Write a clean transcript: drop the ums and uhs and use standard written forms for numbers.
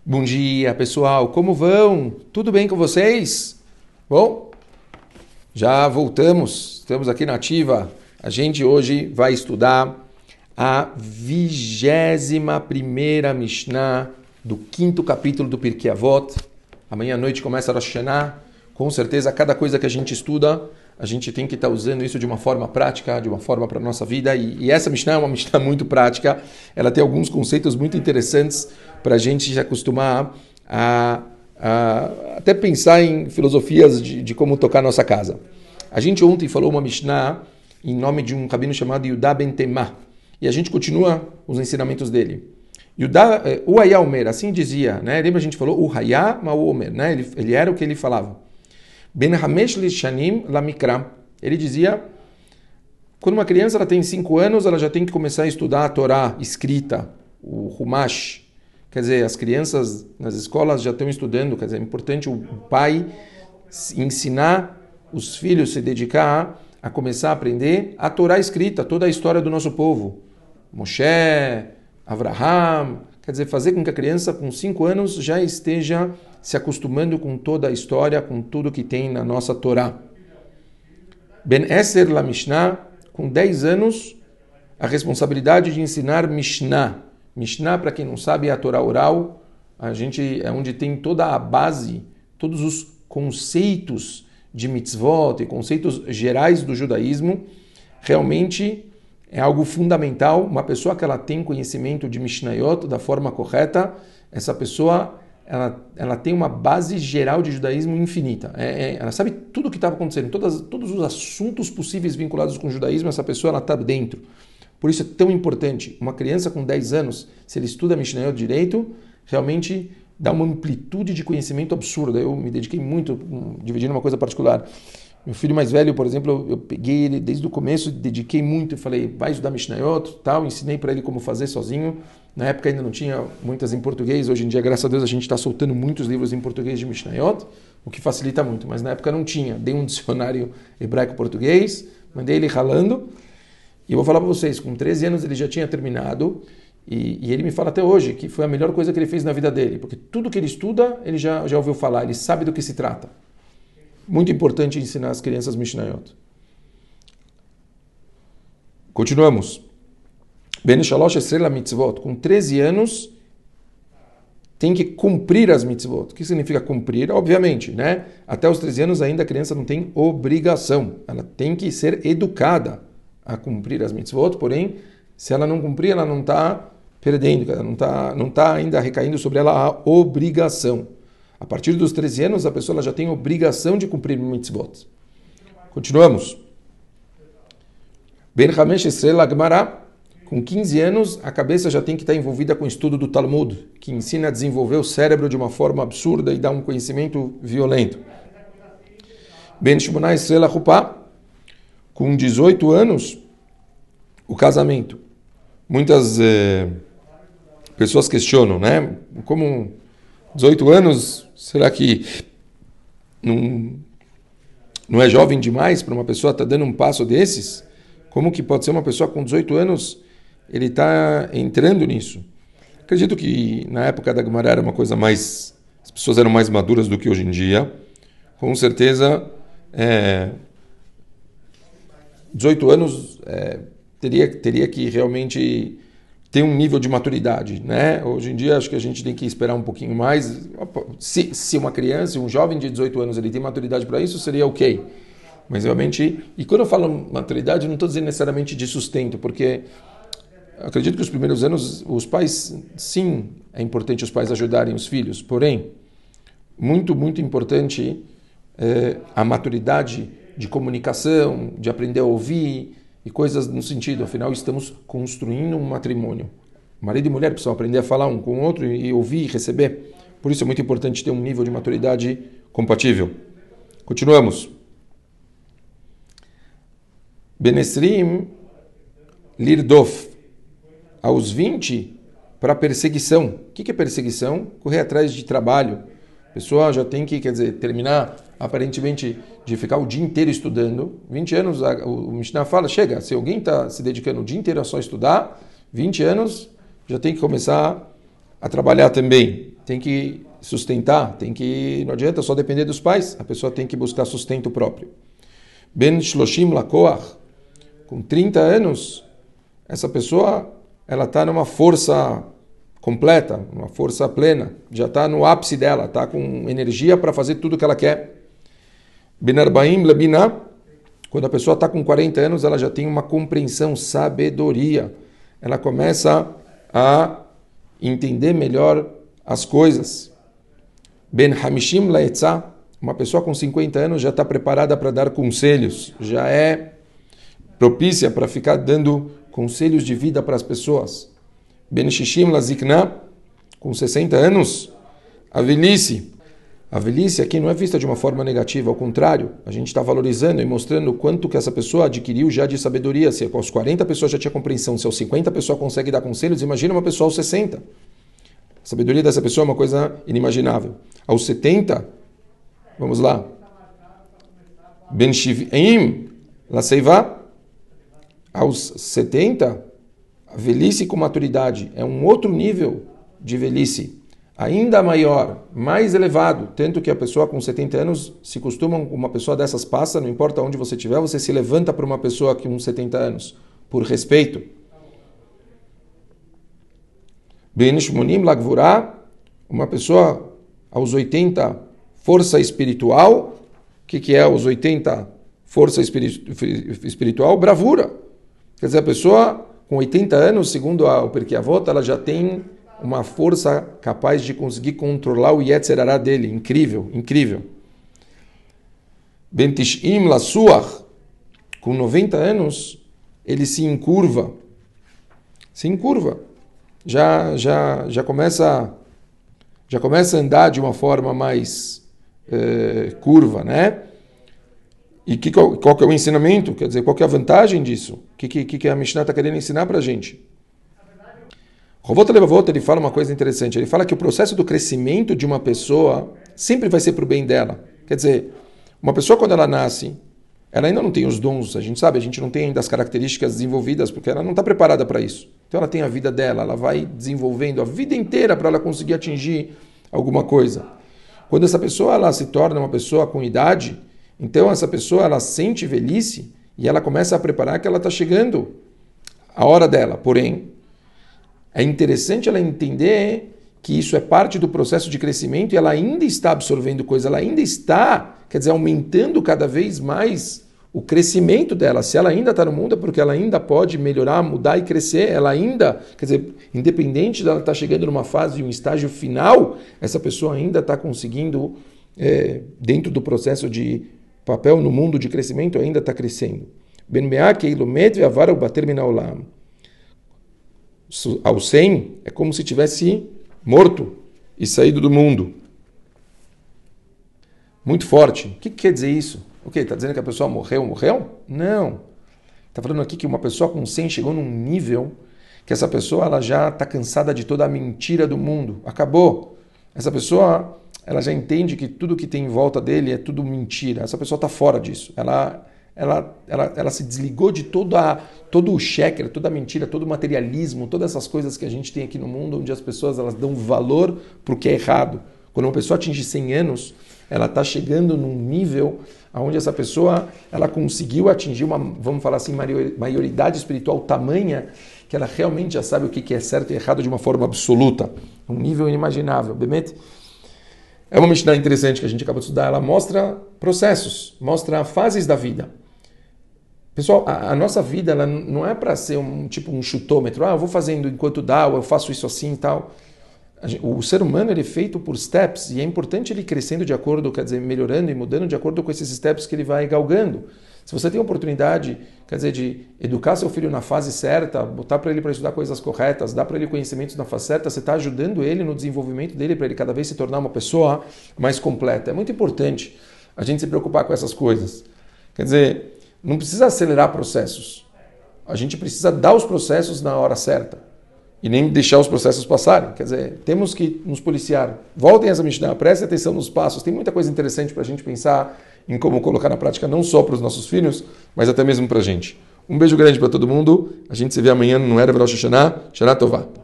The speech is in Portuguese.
Bom dia, pessoal. Como vão? Tudo bem com vocês? Bom, já voltamos. Estamos aqui na ativa. A gente hoje vai estudar a 21ª Mishnah do 5º capítulo do Pirkei Avot. Amanhã à noite começa a Rosh Hashanah. Com certeza, cada coisa que a gente estuda, a gente tem que estar usando isso de uma forma prática, de uma forma para a nossa vida. E essa Mishnah é uma Mishnah muito prática. Ela tem alguns conceitos muito interessantes para a gente se acostumar a até pensar em filosofias de como tocar a nossa casa. A gente ontem falou uma Mishnah em nome de um rabino chamado Yudá Ben Temá. E a gente continua os ensinamentos dele. Yudá, o Hayá Omer, assim dizia, né? Lembra a gente falou o Hayá Ma'u Omer, né? Ele era o que ele falava. Ben Hamesh Lishanim Lamikra. Ele dizia, quando uma criança ela tem 5 anos, ela já tem que começar a estudar a Torá escrita, o Humash. Quer dizer, as crianças nas escolas já estão estudando, quer dizer, é importante o pai ensinar os filhos, se dedicar a começar a aprender a Torá escrita, toda a história do nosso povo. Moshe, Avraham, quer dizer, fazer com que a criança com 5 anos já esteja se acostumando com toda a história, com tudo que tem na nossa Torá. Ben Eser la Mishnah, com 10 anos, a responsabilidade de ensinar Mishnah. Mishnah, para quem não sabe, é a Torá oral. É onde tem toda a base, todos os conceitos de mitzvot e conceitos gerais do judaísmo. Realmente é algo fundamental. Uma pessoa que ela tem conhecimento de Mishnayot da forma correta, essa pessoa ela tem uma base geral de judaísmo infinita. Ela sabe tudo o que estava acontecendo, todos os assuntos possíveis vinculados com o judaísmo, essa pessoa está dentro. Por isso é tão importante. Uma criança com 10 anos, se ele estuda Mishnayot direito, realmente dá uma amplitude de conhecimento absurda. Eu me dediquei muito, dividindo uma coisa particular. Meu filho mais velho, por exemplo, eu peguei ele desde o começo, dediquei muito, falei, vai estudar Mishnayot, tal, ensinei para ele como fazer sozinho. Na época ainda não tinha muitas em português, hoje em dia, graças a Deus, a gente está soltando muitos livros em português de Mishnayot, o que facilita muito, mas na época não tinha. Dei um dicionário hebraico-português, mandei ele ralando, e eu vou falar para vocês, com 13 anos ele já tinha terminado, e ele me fala até hoje que foi a melhor coisa que ele fez na vida dele, porque tudo que ele estuda, ele já ouviu falar, ele sabe do que se trata. Muito importante ensinar as crianças Mishnayot. Continuamos. Ben Shalosh Esrela Mitzvot. Com 13 anos, tem que cumprir as mitzvot. O que significa cumprir? Obviamente, né? Até os 13 anos ainda a criança não tem obrigação. Ela tem que ser educada a cumprir as mitzvot, porém, se ela não cumprir, ela não está perdendo, ela não tá ainda recaindo sobre ela a obrigação. A partir dos 13 anos, a pessoa já tem obrigação de cumprir mitzvot. Continuamos. Ben Hamesh Esrela Gemara. Com 15 anos, a cabeça já tem que estar envolvida com o estudo do Talmud, que ensina a desenvolver o cérebro de uma forma absurda e dá um conhecimento violento. Ben Shmonah Esrela Chupá. Com 18 anos, o casamento. Muitas pessoas questionam, né? Como 18 anos, será que não é jovem demais para uma pessoa estar dando um passo desses? Como que pode ser uma pessoa com 18 anos, ele está entrando nisso? Acredito que na época da Gemara era uma coisa mais... As pessoas eram mais maduras do que hoje em dia. Com certeza, 18 anos teria que realmente ter um nível de maturidade, né? Hoje em dia acho que a gente tem que esperar um pouquinho mais. Se uma criança, um jovem de 18 anos, ele tem maturidade para isso, seria ok. Mas realmente, e quando eu falo maturidade, não estou dizendo necessariamente de sustento, porque acredito que os primeiros anos, os pais, sim, é importante os pais ajudarem os filhos, porém, muito, muito importante a maturidade de comunicação, de aprender a ouvir e coisas no sentido, afinal estamos construindo um matrimônio. Marido e mulher precisam aprender a falar um com o outro e ouvir e receber. Por isso é muito importante ter um nível de maturidade compatível. Continuamos. Benesrim Lirdof. Aos 20, para perseguição. O que é perseguição? Correr atrás de trabalho. A pessoa já tem que, quer dizer, terminar, aparentemente, de ficar o dia inteiro estudando. 20 anos, o Mishnah fala, chega, se alguém está se dedicando o dia inteiro a só estudar, 20 anos, já tem que começar a trabalhar também. tem que sustentar, não adianta só depender dos pais, a pessoa tem que buscar sustento próprio. Ben Shloshim Lakoach, com 30 anos, essa pessoa ela está numa força completa, uma força plena, já está no ápice dela, está com energia para fazer tudo o que ela quer. Ben Arbaim Lebina, quando a pessoa está com 40 anos, ela já tem uma compreensão, sabedoria. Ela começa a entender melhor as coisas. Ben Hamishim Laetzah, uma pessoa com 50 anos já está preparada para dar conselhos, já é propícia para ficar dando conselhos de vida para as pessoas. Ben Shishim Lazikna, com 60 anos, a velhice. A velhice aqui não é vista de uma forma negativa, ao contrário, a gente está valorizando e mostrando o quanto que essa pessoa adquiriu já de sabedoria. Se aos 40 pessoas já tinha compreensão, se aos 50 a pessoa consegue dar conselhos, imagina uma pessoa aos 60. A sabedoria dessa pessoa é uma coisa inimaginável. Aos 70, vamos lá. Ben Shiv'im Laseiva, aos 70, a velhice com maturidade é um outro nível de velhice, ainda maior, mais elevado, tanto que a pessoa com 70 anos, se costuma, uma pessoa dessas passa, não importa onde você estiver, você se levanta para uma pessoa com 70 anos, por respeito. Ben Shmonim Lagvurah, uma pessoa aos 80, força espiritual. O que é aos 80, força espiritual? Bravura. Quer dizer, a pessoa com 80 anos, segundo o Pirkei Avot, ela já tem uma força capaz de conseguir controlar o Yetzer Hará dele. Incrível, incrível. Ben Tish'im Lasuach, com 90 anos, ele se encurva. Se encurva. Já começa a andar de uma forma mais curva, né? E qual que é o ensinamento? Quer dizer, qual que é a vantagem disso? O que a Mishnah está querendo ensinar para a gente? Rovot Levavot, ele fala uma coisa interessante. Ele fala que o processo do crescimento de uma pessoa sempre vai ser para o bem dela. Quer dizer, uma pessoa quando ela nasce, ela ainda não tem os dons, a gente sabe, a gente não tem ainda as características desenvolvidas, porque ela não está preparada para isso. Então ela tem a vida dela, ela vai desenvolvendo a vida inteira para ela conseguir atingir alguma coisa. Quando essa pessoa ela se torna uma pessoa com idade, então essa pessoa ela sente velhice e ela começa a preparar que ela está chegando a hora dela. Porém, é interessante ela entender que isso é parte do processo de crescimento e ela ainda está absorvendo coisa, ela ainda está, quer dizer, aumentando cada vez mais o crescimento dela. Se ela ainda está no mundo é porque ela ainda pode melhorar, mudar e crescer. Ela ainda, quer dizer, independente dela estar chegando numa fase, um estágio final, essa pessoa ainda está conseguindo, dentro do processo de papel no mundo de crescimento, ainda está crescendo. Ben me'ak eilumed ve'avar u'bater min ha'olam. Ao 100 é como se tivesse morto e saído do mundo. Muito forte. O que quer dizer isso? O quê? Está dizendo que a pessoa morreu? Não. Está falando aqui que uma pessoa com 100 chegou num nível que essa pessoa ela já está cansada de toda a mentira do mundo. Acabou. Essa pessoa ela já entende que tudo que tem em volta dele é tudo mentira. Essa pessoa está fora disso. Ela se desligou de todo o sheker, toda a mentira, todo o materialismo, todas essas coisas que a gente tem aqui no mundo, onde as pessoas elas dão valor para o que é errado. Quando uma pessoa atinge 100 anos, ela está chegando num nível onde essa pessoa ela conseguiu atingir uma, vamos falar assim, maioridade espiritual tamanha que ela realmente já sabe o que é certo e errado de uma forma absoluta. Um nível inimaginável. Bemet? É uma Mishnah interessante que a gente acabou de estudar. Ela mostra processos, mostra fases da vida. Pessoal, a nossa vida ela não é para ser um chutômetro. Eu vou fazendo enquanto dá, ou eu faço isso assim e tal. O ser humano ele é feito por steps e é importante ele crescendo de acordo, quer dizer, melhorando e mudando de acordo com esses steps que ele vai galgando. Se você tem a oportunidade, quer dizer, de educar seu filho na fase certa, botar para ele para estudar coisas corretas, dar para ele conhecimentos na fase certa, você está ajudando ele no desenvolvimento dele para ele cada vez se tornar uma pessoa mais completa. É muito importante a gente se preocupar com essas coisas. Quer dizer, não precisa acelerar processos. A gente precisa dar os processos na hora certa. E nem deixar os processos passarem. Quer dizer, temos que nos policiar. Voltem a essa Mishnah, prestem atenção nos passos. Tem muita coisa interessante para a gente pensar em como colocar na prática, não só para os nossos filhos, mas até mesmo para a gente. Um beijo grande para todo mundo. A gente se vê amanhã no Erev Rosh Hashanah. Shana Tová.